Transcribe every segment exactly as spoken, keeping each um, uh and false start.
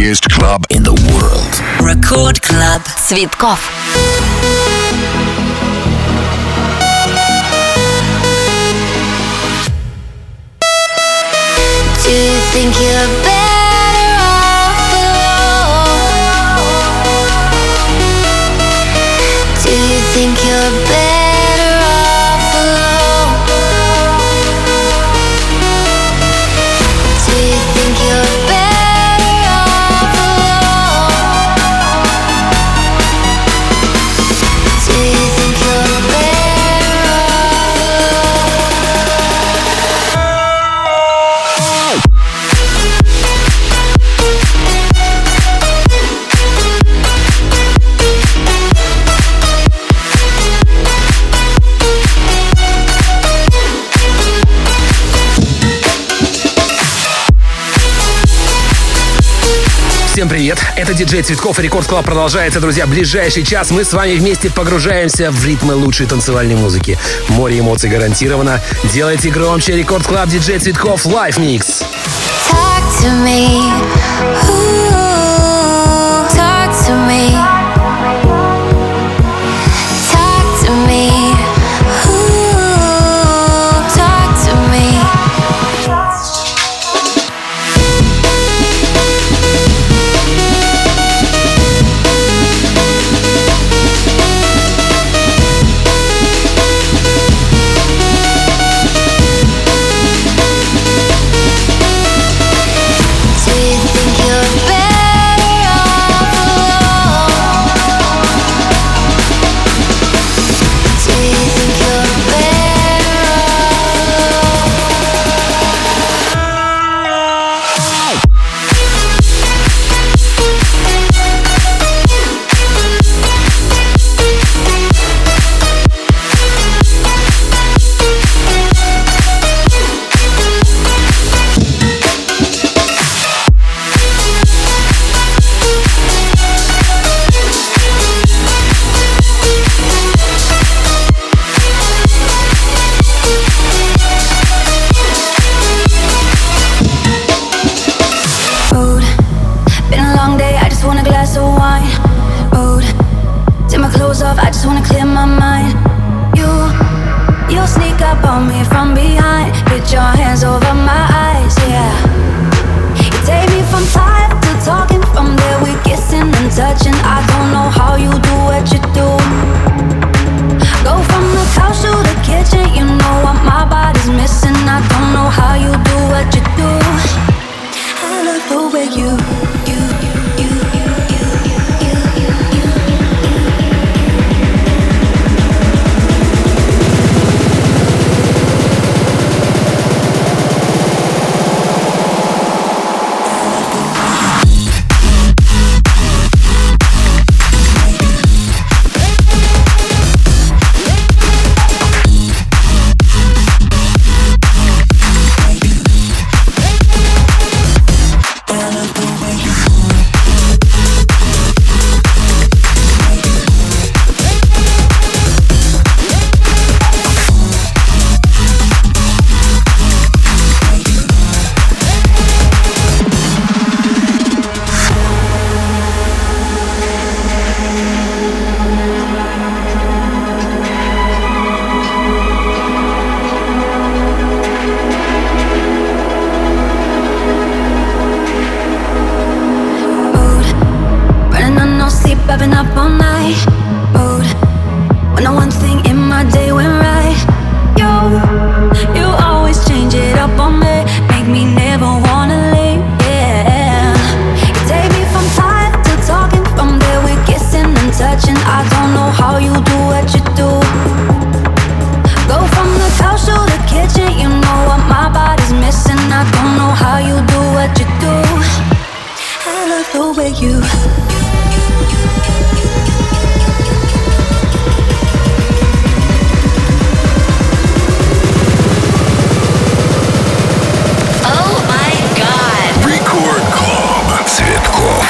biggest club in the world. Record Club. Цветков. Do you think you're better off alone? Do you think you're better off alone? Do you think you're better off alone? Do you think you're better off alone? Всем привет, это диджей Цветков и Рекорд Клаб продолжается, друзья. Ближайший час мы с вами вместе погружаемся в ритмы лучшей танцевальной музыки. Море эмоций гарантировано. Делайте громче. Рекорд Клаб, диджей Цветков, Live Mix. Talk to me. Ooh, talk to me. Talk to me. Ooh, talk to me. Do you think you're better off alone? Do you think you're better off alone? Mood. Been a long day, I just want a glass of wine. Mood. Take my clothes off, I just wanna clear my mind. You, you'll sneak up on me from behind. Put your hands over my eyes, yeah. You take me from tired to talking. From there we kissing and touching. I don't know how you do what you do. Go from the couch to the kitchen. You know what my body's missing. I don't know how you do what you do. I love the way you, you, you, you, you, you, you, you. Mood. Running on no sleep, I've been up all night. Mood. When the one thing in my day went right. You, you always change it up on me. Make me never wanna leave, yeah. You take me from tired to talking. From there we're kissing and touching. I don't know how you do what you do. Go from the couch to the kitchen. You know what my body's missing. I don't know how you do what you do. I love the way you. Oh my God. Record Club. Цветков.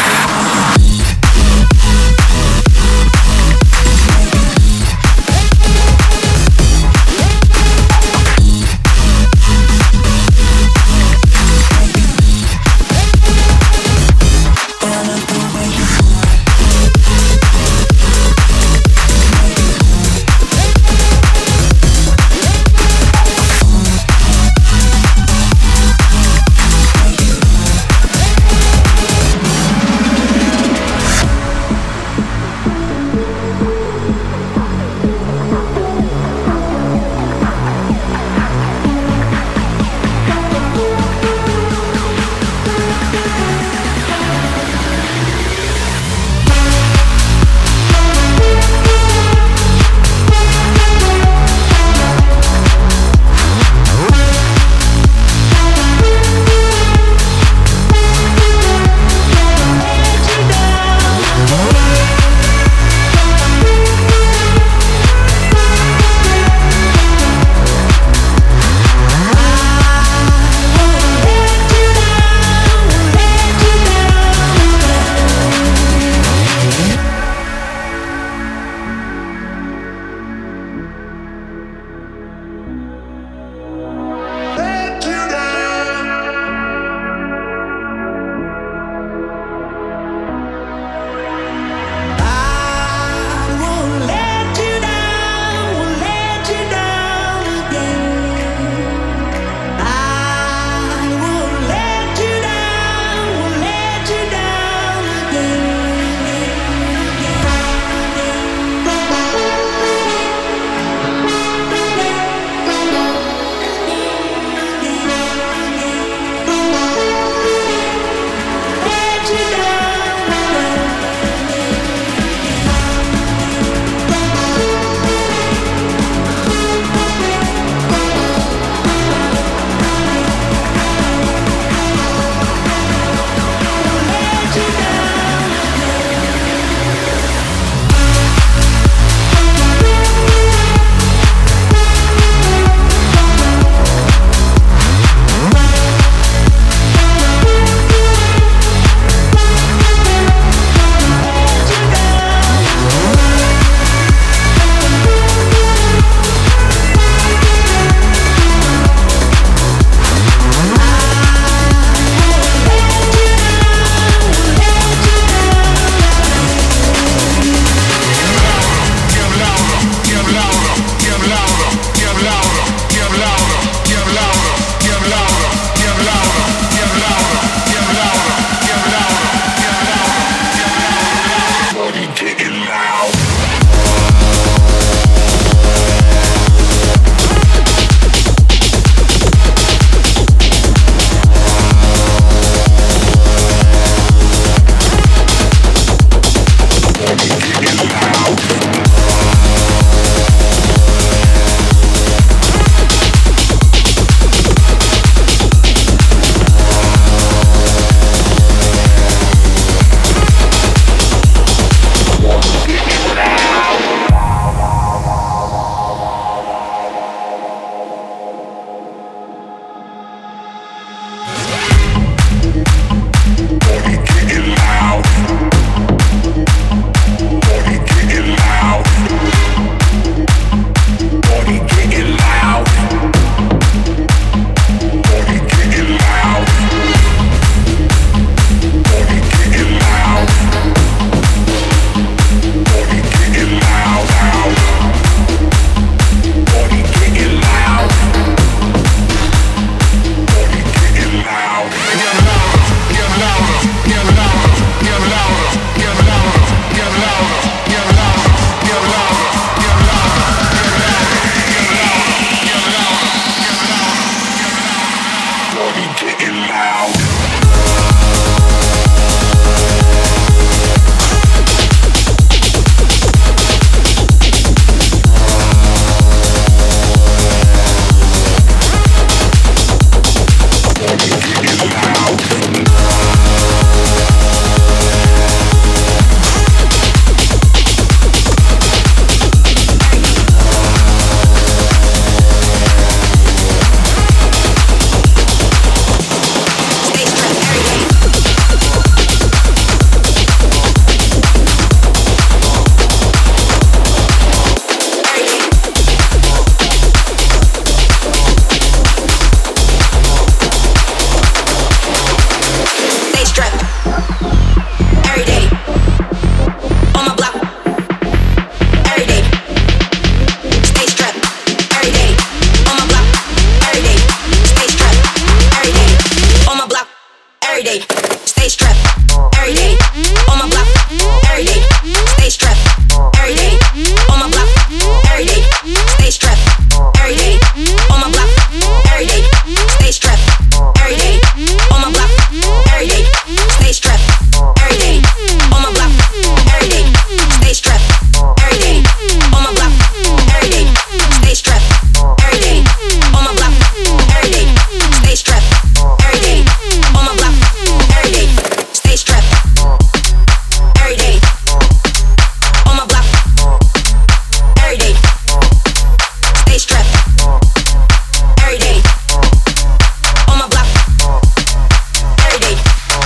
day. Stay strapped every day. On my block every day. Stay strapped every day. On my block every day. Stay strapped every day. On my block every day. Stay strapped every day. On my block every day. Stay strapped every day. On my block every day. Stay strapped every day. On my block every day. Stay strapped every day. On my block every day. Stay strapped every day. On my block every day. Stay strapped every day. On my block every day. Stay strapped every day. On my block every day.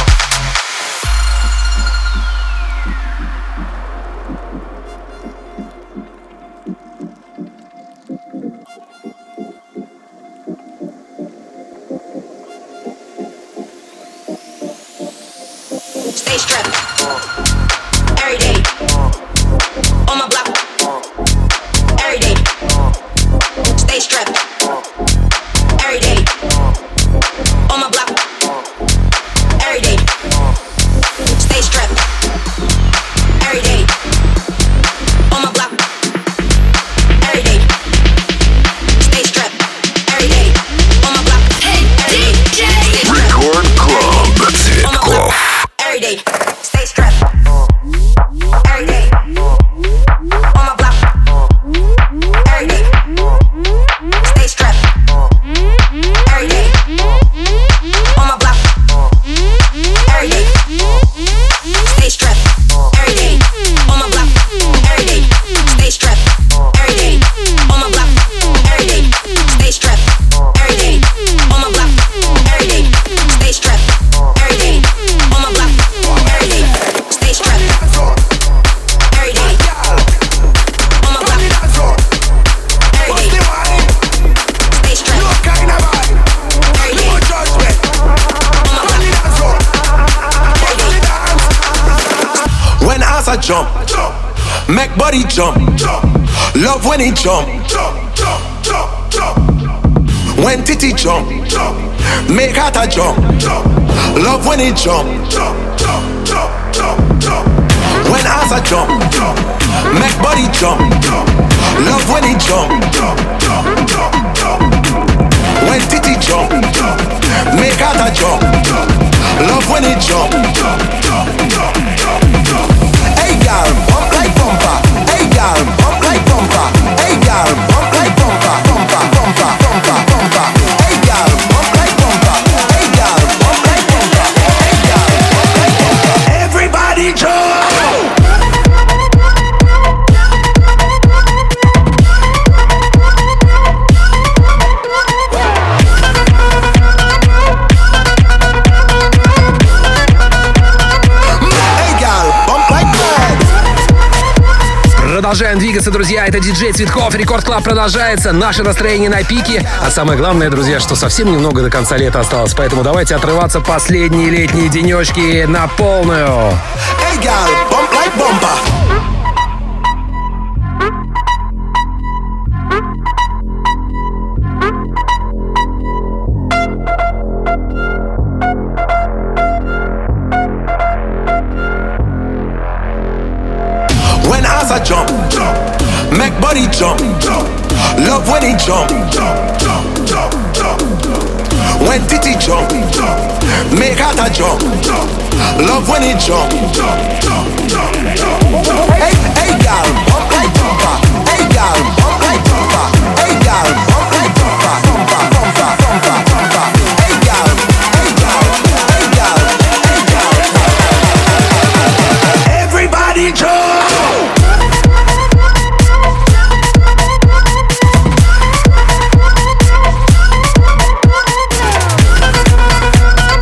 Stay strapped every day. On my block every day. Stay strapped every day. On my block every day. Stay strapped every day. On my block every day. Stay strapped every day. On my block every day. Record Club Цветков. Every day, stay strapped. Every day, on my block. Every day, stay strapped. Every day, on my block. Every day, stay strapped. Every day, on my block. Every day, stay strapped. Every day, on my block. Every day, stay strapped. Every day, on my block. Every day, stay strapped. Every day, on my block. Every day, stay strapped. Every day, on my block. Every day, stay strapped. Every day, on my block. Every day. When as I jump, make body jump. Love when he jump. When titty jump, make heart a jump. Love when he jump. When as I jump, make body jump. Love when he jump. When titty jump, make heart a jump. Love when he jump. Hey girl, bump like bumper. Hey girl, bump like bumper. Hey girl, bump like bumper. Bumper, bumper, bumper, bumper. Hey girl, bump like bumper. Hey girl, bump like bumper. Hey girl, bump like bumper. Everybody jump. Продолжаем двигаться, друзья. Это диджей Цветков. Рекорд Клаб продолжается. Наше настроение на пике. А самое главное, друзья, что совсем немного до конца лета осталось. Поэтому давайте отрываться последние летние денечки на полную. Hey girl, bump like bumper. When as I jump, make body jump. Love when he jump. When titty jump, make heart a jump. Love when he jump. Hey, hey girl, bump like bumper. Hey girl, bump like bumper. Hey girl, bump like bumper. Bumper, bumper, bumper, bumper. Hey girl, hey girl, hey girl, hey girl. Everybody jump.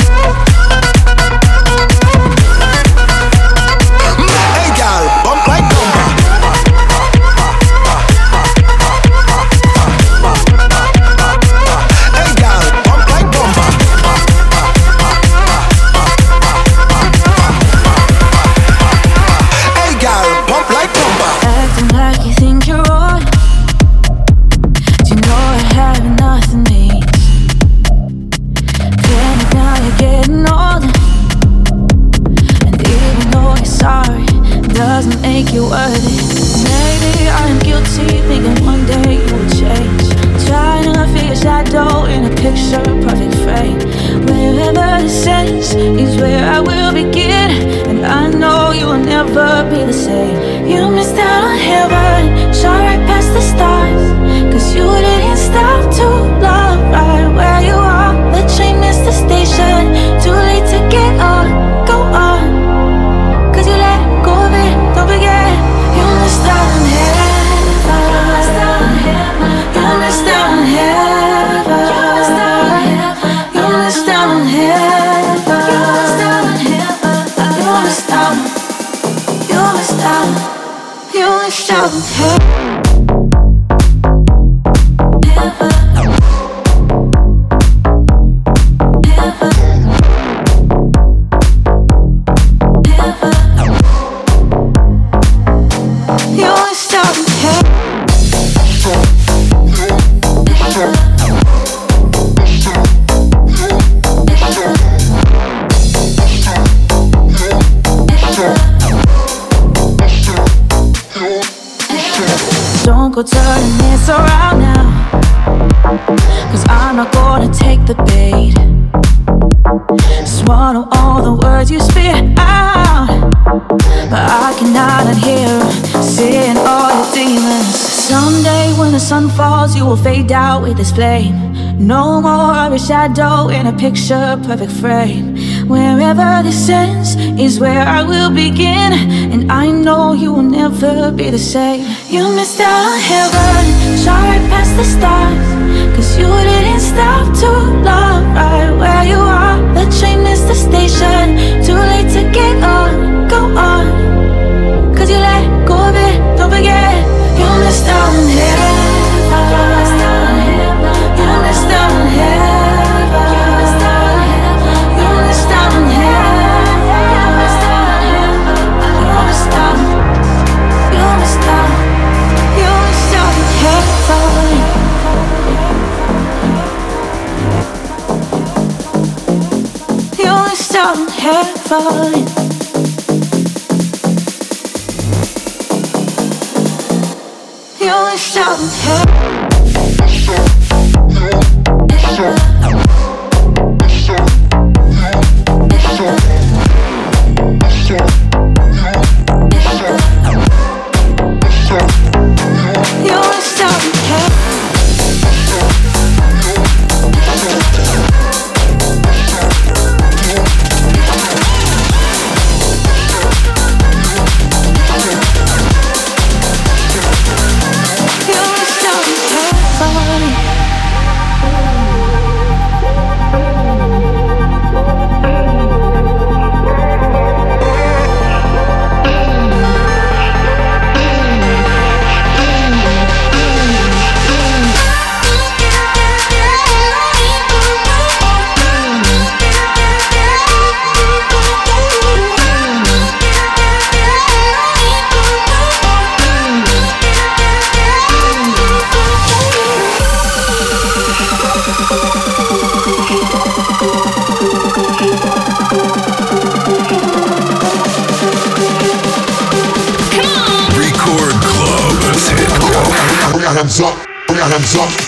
Bump like would. Maybe I'm guilty, thinking one day you would change. Trying to feel your shadow in a picture perfect frame. Wherever this ends is where I will begin, and I know you will never be the same. You missed out on heaven, shot right past the stars, cause you didn't stop to love right where you are. The train missed the station, too late to get on, go on, cause you let go of it, don't forget. You missed out on heaven, you missed out on heaven, you missed out on heaven, you missed out, you missed out, you missed out on heaven. Don't go turning this around now, cause I'm not gonna take the bait. Swallow all the words you spit out, but I cannot unhear them, seeing all your demons. Someday when the sun falls, you will fade out with this flame. No more of your shadow in a picture perfect frame. Wherever this ends is where I will begin, and I know you will never be the same. You missed out on heaven, shot right past the stars, cause you didn't stop to love right where you are. The train missed the station, too late to get on, go on, cause you let go of it, don't forget. You missed out on heaven, you missed out on heaven, you missed out on heaven. Heaven. You wish out in heaven. You wish out in heaven. Hands up, put your hands up.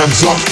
hands up.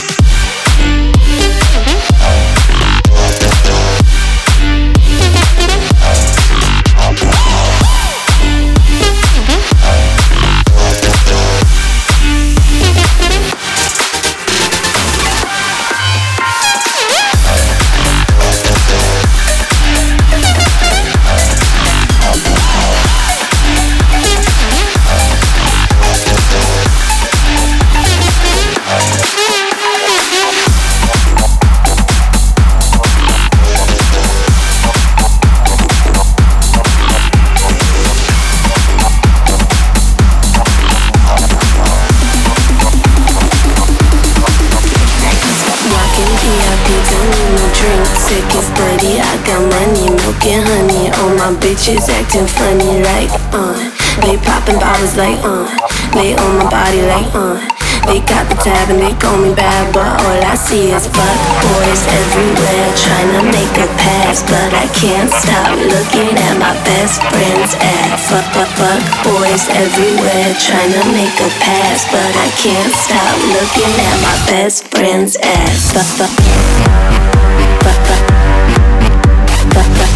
Bitches acting funny like, uh they popping bottles like, uh they on my body like, uh they got the tab and they call me bad, but all I see is fuck boys everywhere trying to make a pass, but I can't stop looking at my best friend's ass. Fuck, fuck, fuck boys everywhere trying to make a pass, but I can't stop looking at my best friend's ass. Fuck, fuck, fuck, fuck, fuck, fuck.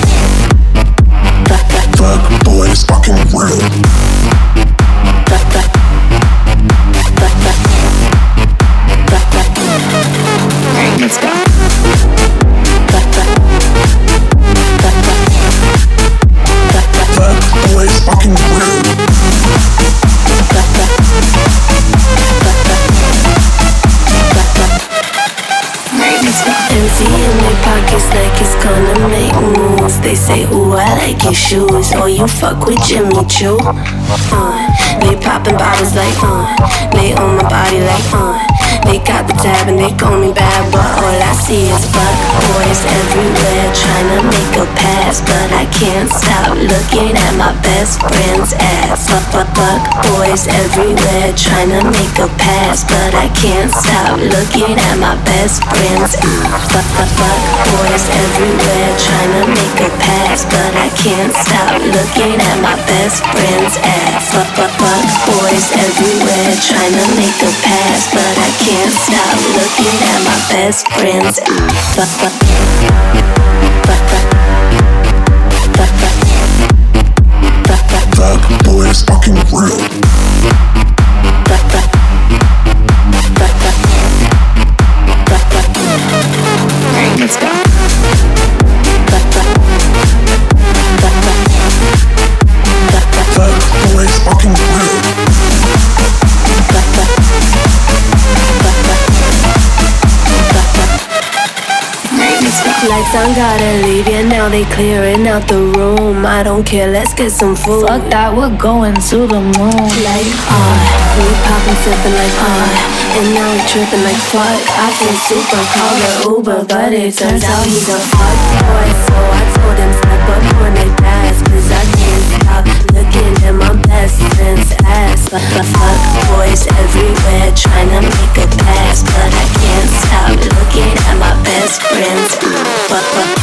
Fuck boys fucking real. Fuck, fuck, fuck, fuck, fuck, fuck. Alright, let's go. Fuck, fuck, fuck, fuck, fuck, fuck. Fuck boys fucking real. Fuck, fuck, fuck, fuck, fuck, fuck. Alright, let's go. Empty in their pockets like it's gonna make moves. They say, ooh, I like your shoes. Oh, you fuck with Jimmy Choo. Uh, they popping bottles like, uh they on my body like, uh they got the tab and they call me bad, but all I see is fuck boys everywhere trying to make a pass, but I can't stop looking at my best friend's ass. Fuck, fuck, fuck boys everywhere trying to make a pass, but I can't stop looking at my best friend's ass. Fuck, fuck, fuck boys everywhere trying to make a pass, but I can't stop looking at my best friend's ass. Fuck, fuck, fuck boys everywhere trying to make a pass, but I can't stop looking at my best friend's ass. Fuck, fuck, fuck, fuck, fuck, fuck, fuck, fuck. Fuck boys fucking real. Fuck, fuck, fuck, fuck, fuck, fuck. Alright, let's go. Fuck, fuck, fuck, fuck, fuck, fuck. Fuck boys fucking real. Fuck, fuck, fuck, fuck, fuck, fuck. Alright, let's go. Lights on, gotta leave, yeah, now they clearing out the room. I don't care, let's get some food. Fuck that, we're going to the moon. Like, uh, we poppin', sippin' like, uh and now we trippin' like fuck. I feel super, call the Uber, but it turns out he's a fuck boy. So I told him step up on they pass, cause I can't stop looking at my best friend's ass. Fuck, fuck, fuck boys everywhere trying to make a pass, but I can't stop looking at my best friend's ass. Fuck, fuck.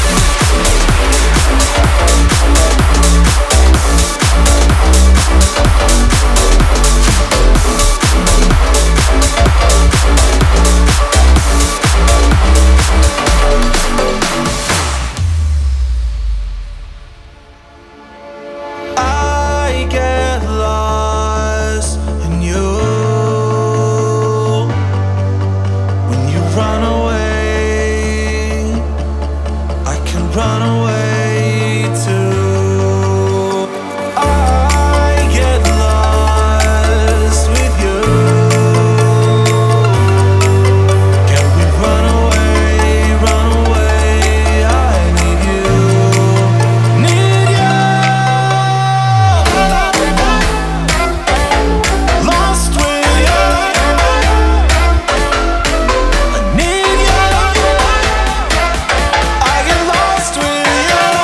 I get lost with you.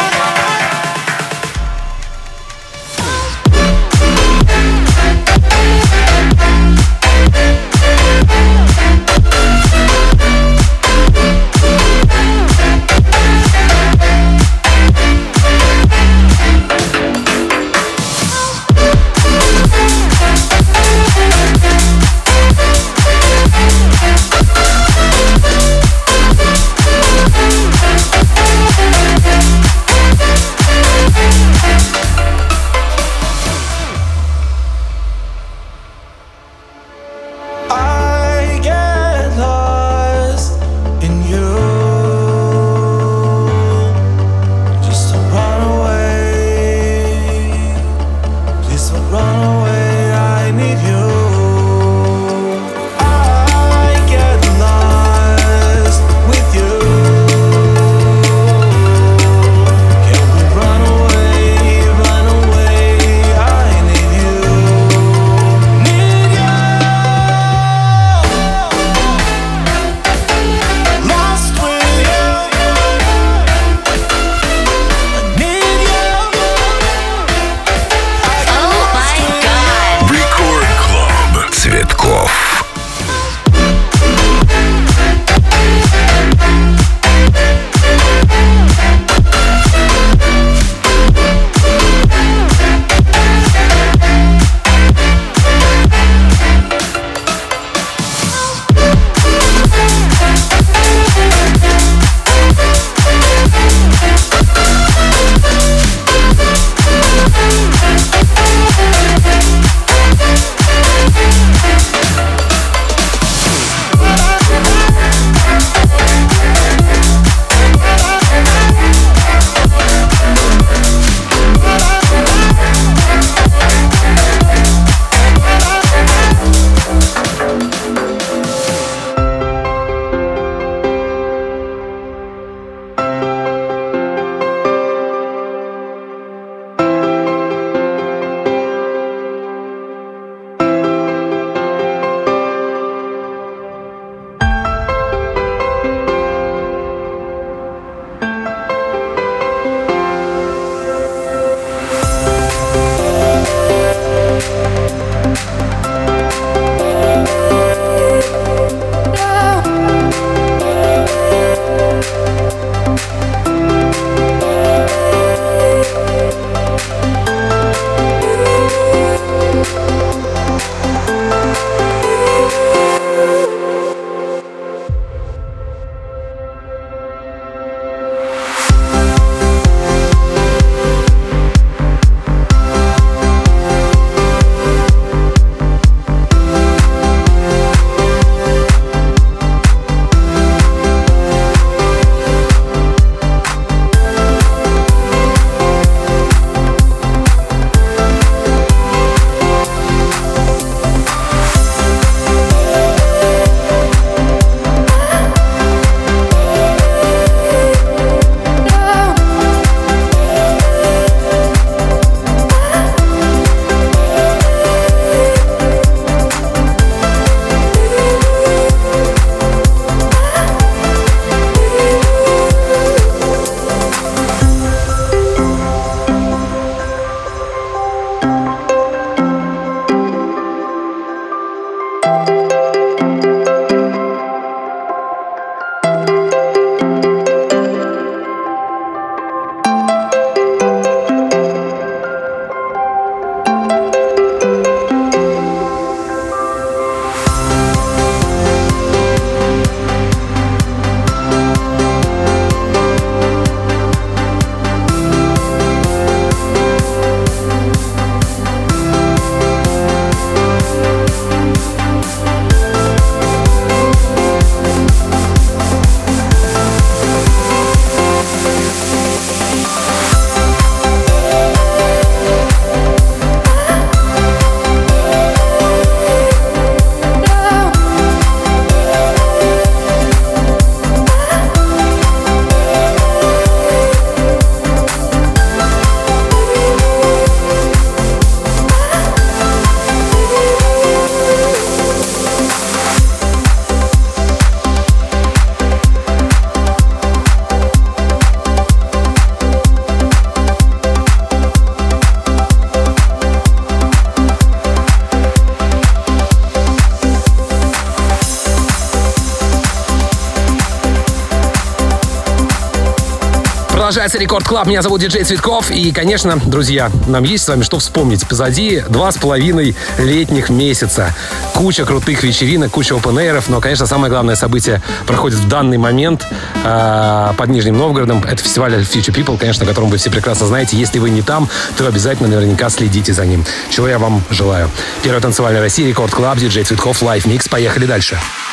Продолжается Рекорд Клаб. Меня зовут диджей Цветков. И, конечно, друзья, нам есть с вами что вспомнить. Позади два с половиной летних месяца. Куча крутых вечеринок, куча опен-эйров. Но, конечно, самое главное событие проходит в данный момент э, под Нижним Новгородом. Это фестиваль Future People, конечно, о котором вы все прекрасно знаете. Если вы не там, то обязательно наверняка следите за ним. Чего я вам желаю. Первый танцевальный России, Рекорд Клаб, диджей Цветков, Live Mix. Поехали дальше.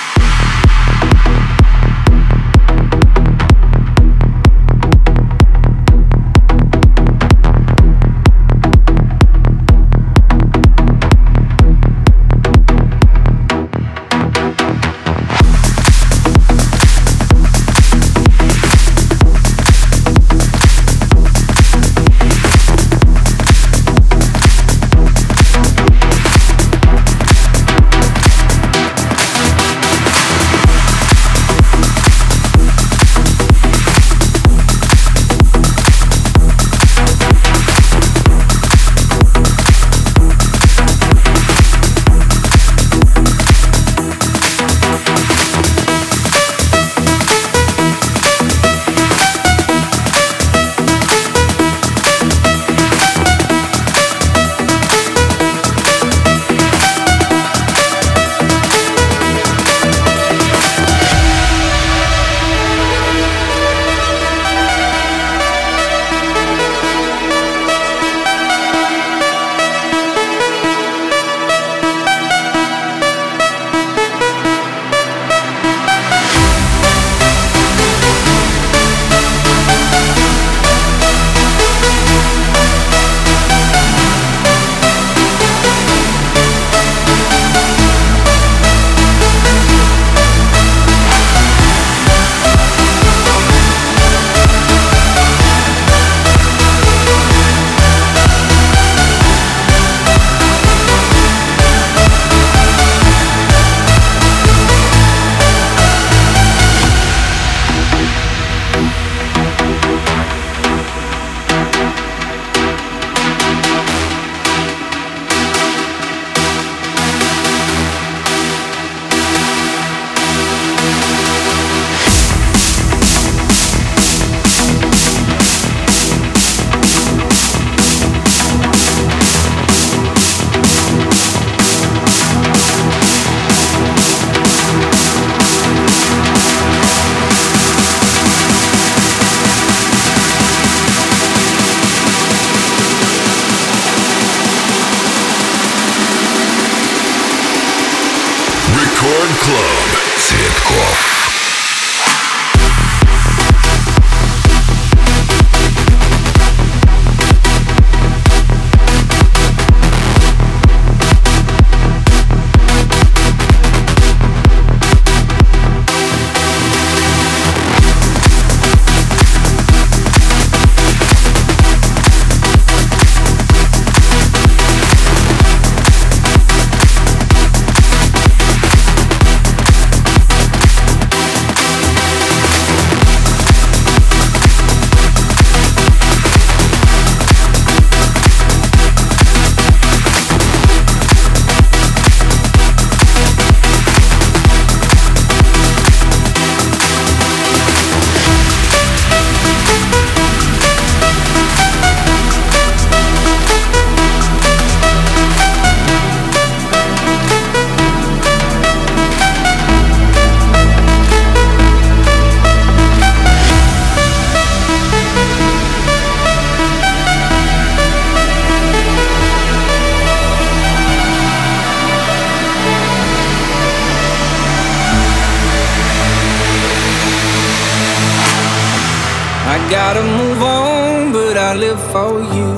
gotta move on, but I live for you.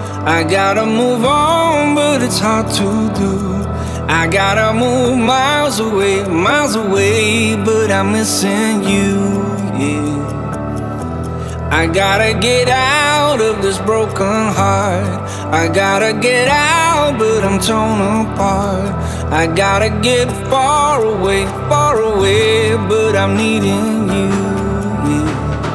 I gotta move on, but it's hard to do. I gotta move miles away, miles away, but I'm missing you, yeah. I gotta get out of this broken heart. I gotta get out, but I'm torn apart. I gotta get far away, far away, but I'm needing you, yeah.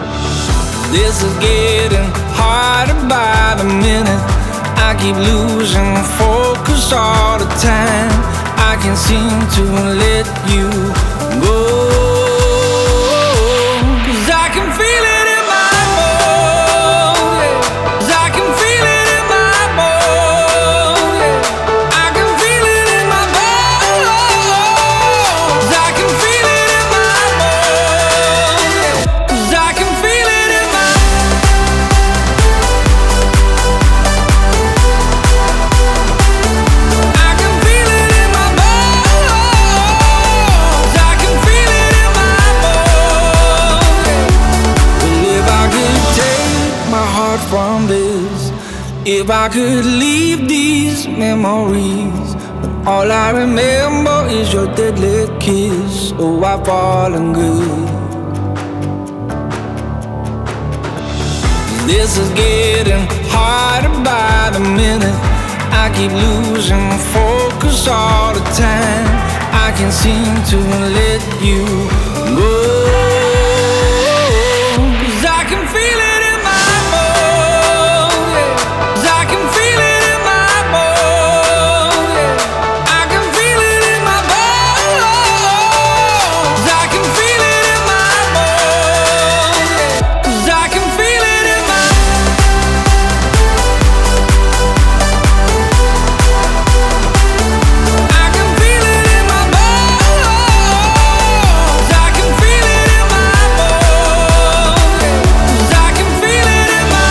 This is getting harder by the minute. I keep losing focus all the time. I can't seem to let you go, 'cause I can feel it in my bones. from this. If I could leave these memories, but all I remember is your deadly kiss. Oh, I've fallen good. This is getting harder by the minute. I keep losing focus all the time. I can't seem to let you go. 'Cause I can feel it in my bones, yeah. 'Cause I can feel it in my bones, yeah. I can feel it in my bones. 'Cause I can feel it in my bones, yeah. 'Cause I can feel it in my I can feel it in my bones. I can feel it in my bones, yeah. 'Cause I can feel it in my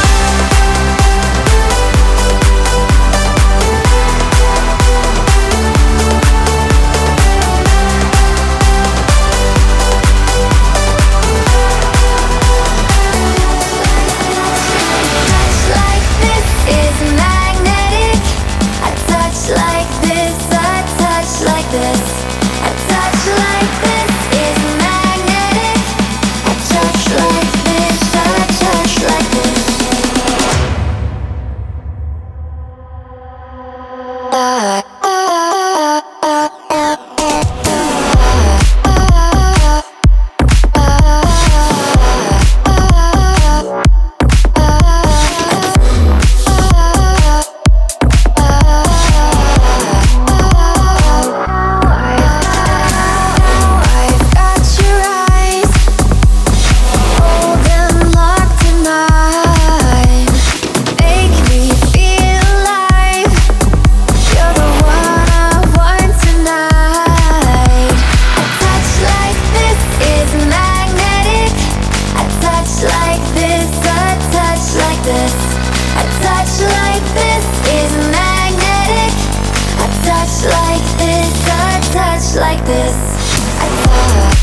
Like this is magnetic. A touch like this, a touch like this. A touch like this is magnetic. A touch like this, a touch like this. I've got your eyes, hold them locked in mine. Make me feel alive. You're the one I want tonight. A touch like this is magnetic. A touch like this, a touch like this. A touch like this is magnetic. A touch like this, a touch like this. A touch.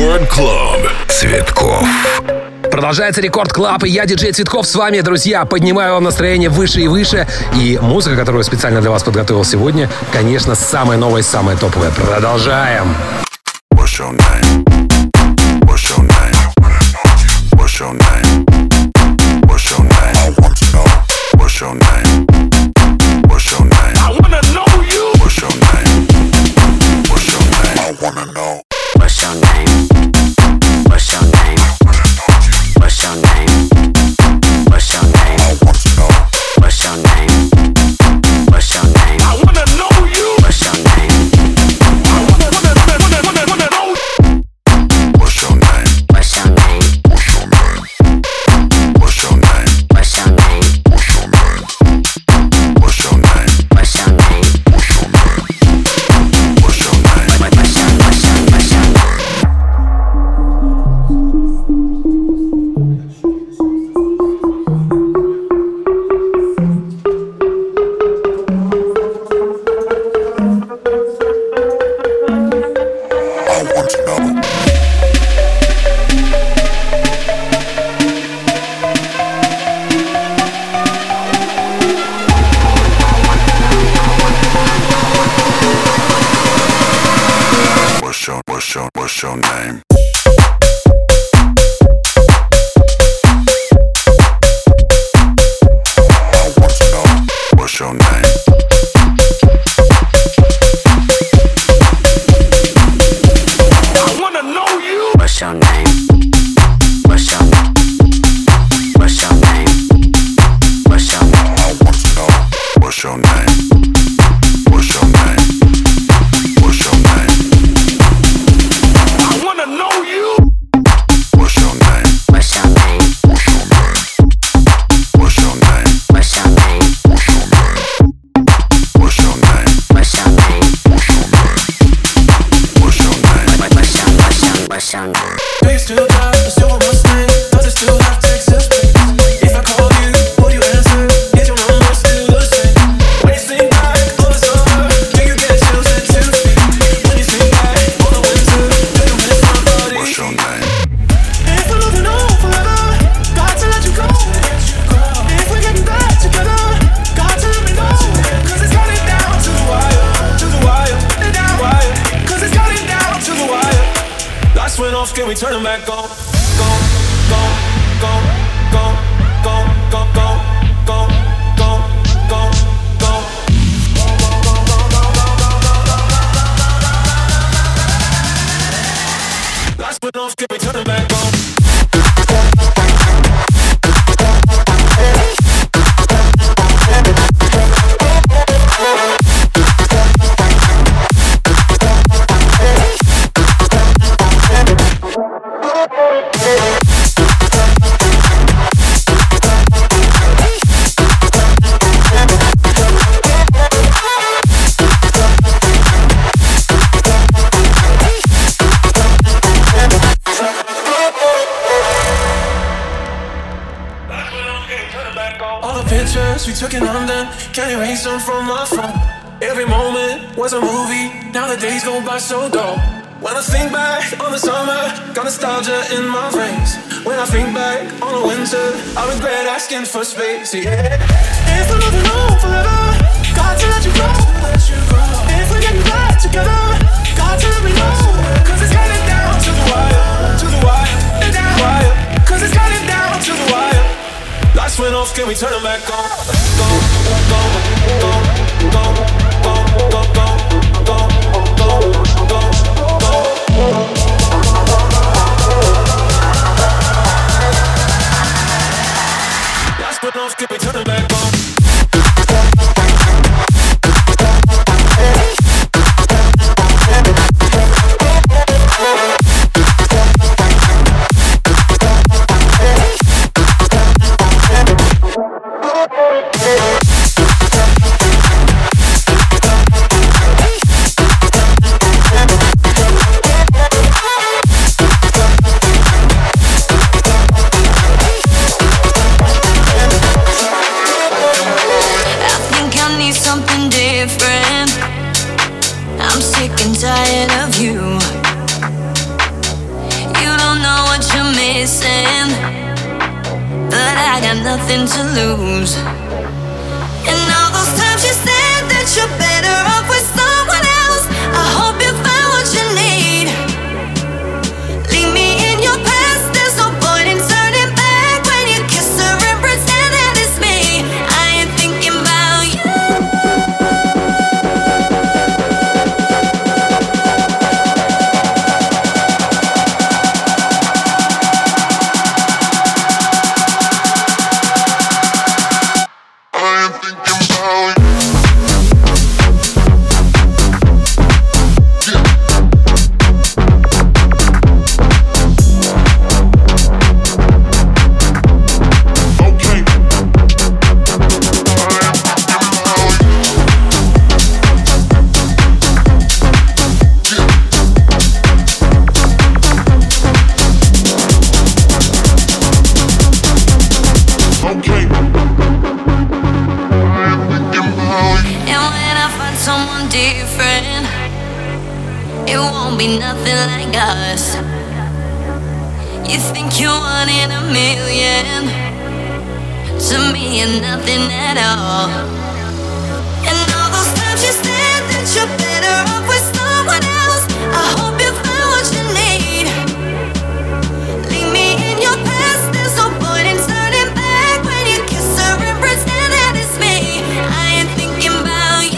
Рекорд Клаб. Цветков. Продолжается Рекорд Клаб, и я, диджей Цветков, с вами, друзья. Поднимаю вам настроение выше и выше. И музыка, которую специально для вас подготовил сегодня, конечно, самая новая, самая топовая. Продолжаем. What's your name? What's your name? What's your name? What's your name? I want to know. What's your name? What's your name? I wanna know you. What's your name? What's your name? I wanna know. What's your name? What's your name? What's your name? What's your name? I want to know. What's your name? What's your name? I wanna know you. What's your name? I wanna, wanna, wanna, wanna, wanna know. What's your name? What's your name? What's your name? What's your name? What's your name? What's your name? What's your name? What's your name? What's your name? What's your name? What's your, what's your, what's your name? What's your name? I want to know. What's your name? I wanna know you. What's your name? What's your name? What's your name? What's your name? I want to know. What's your name? What's your name? What's your name? I wanna know you. What's your name? What's your name? What's your name? What's your name? What's your name? What's your name? What's your name? What's your name? What's your, what's your, what's your name? Do you still drive a silver Mustang? Does it still have Texas plates? If I call you, will you answer? Is your number still the same? When you think back on the summer, do you get chills at two feet? When you think back on the winter, do you miss my body? What's your name? If we're moving on forever, got to let you go. If we're getting back together, got to let me know. Cause it's got it down to the wire, to the wire, and down wire. Cause it's got it down to the wire. Lights went off, can we turn them back on? Go, go, go, go, go, go, go, go, go, go, go. Lights went off, can we turn them back on? All the pictures we took in London, can't erase them from my phone. Every moment was a movie, now the days go by so dull. When I think back on the summer, got nostalgia in my veins. When I think back on the winter, I regret asking for space, yeah. If we're moving on forever, got to let you go. If we're getting back together, got to let me know. Cause it's got it down to the wire, to the wire, and down the wire. Cause it's got it down to the wire. Lights went off, can we turn them back on? Go, go, go, go, go, go, go, go, go, go, go. Lights went off, can we turn them back on? missing, but I got nothing to lose. And all those times you said that you're better off with someone else, I hope you find what you need. Leave me in your past, there's no point in turning back when you kiss her and pretend that it's me. I ain't thinking about you. Nothing like us. You think you're one in a million, to me you're nothing at all. And all those times you said that you're better off with someone else, I hope you find what you need. Leave me in your past, there's no point in turning back when you kiss her and pretend that it's me. I ain't thinking about you.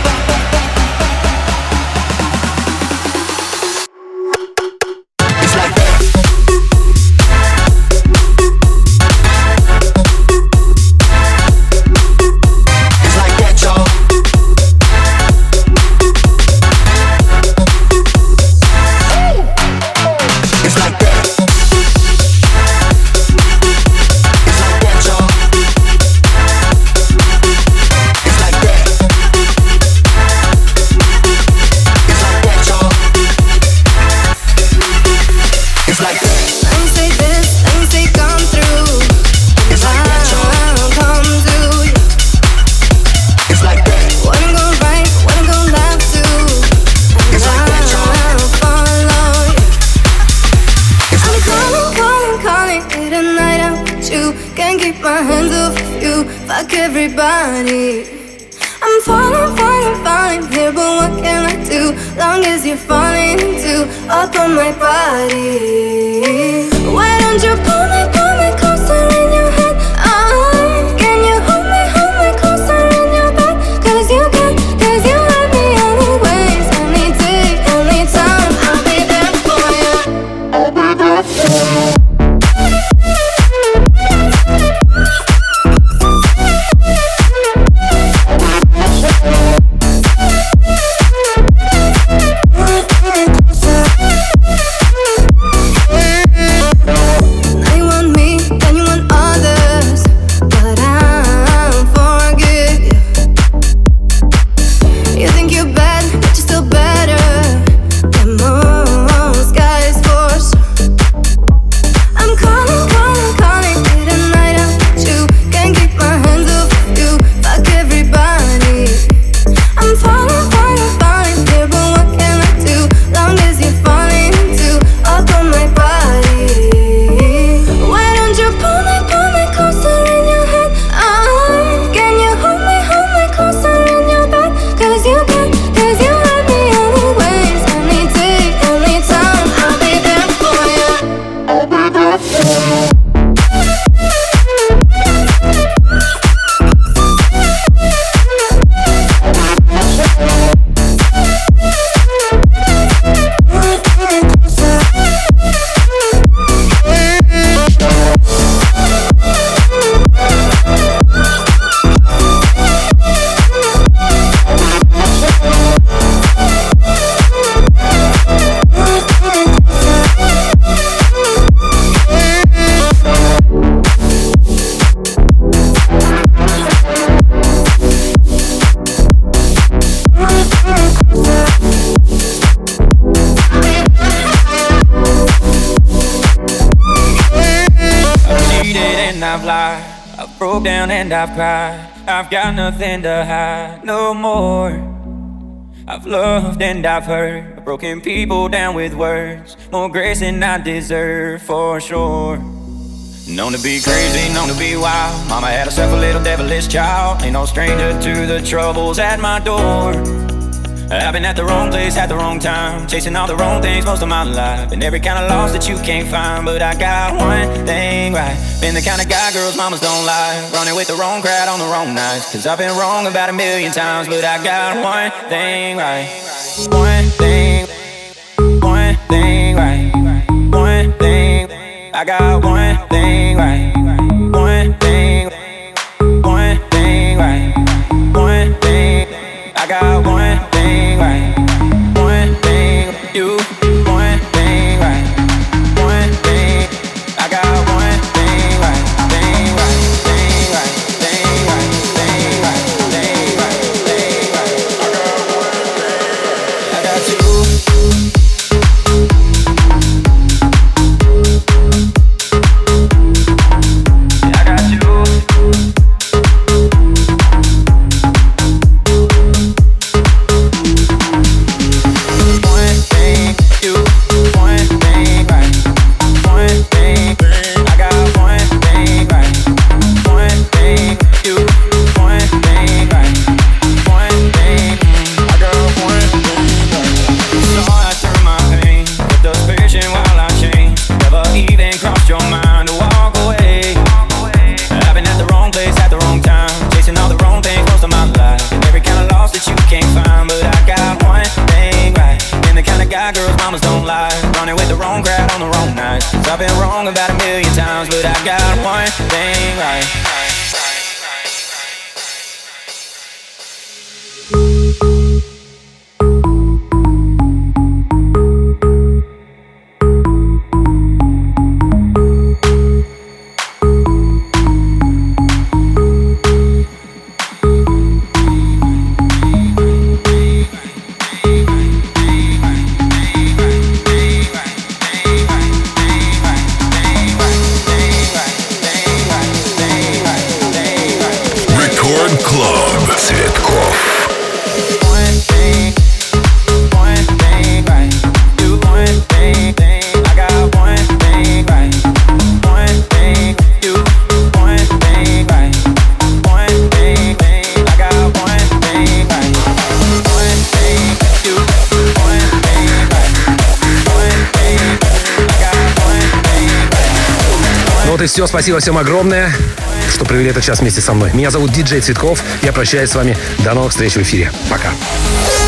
It's like fuck everybody. I'm falling, falling, falling here, but what can I do? Long as you're falling too up on my body. Why don't you pull me, pull me closer in your head? Oh, can you hold me, hold me closer in your bed? Cause you can, cause you have me anyways. Any day, any time, I'll be there for you. I'll be there for you. I've cried, I've got nothing to hide no more. I've loved and I've hurt, I've broken people down with words, more grace than I deserve for sure. Known to be crazy, known to be wild, mama had herself a little devilish child. Ain't no stranger to the troubles at my door. I've been at the wrong place at the wrong time, chasing all the wrong things most of my life, and every kind of loss that you can't find. But I got one thing right, been the kind of guy girls mamas don't like, running with the wrong crowd on the wrong nights. Cause I've been wrong about a million times, but I got one thing right. One thing, one thing right. One thing, I got one thing right. One thing, one thing right. One thing, I got one thing right. One thing, you, one thing right. One thing, I got one thing right. Thing right, thing right, thing right, thing right, thing right, thing right. I got one thing. I got you. I've been wrong about a million times, but I got one thing right. Right. Вот и все. Спасибо всем огромное, что провели этот час вместе со мной. Меня зовут Диджей Цветков. Я прощаюсь с вами. До новых встреч в эфире. Пока.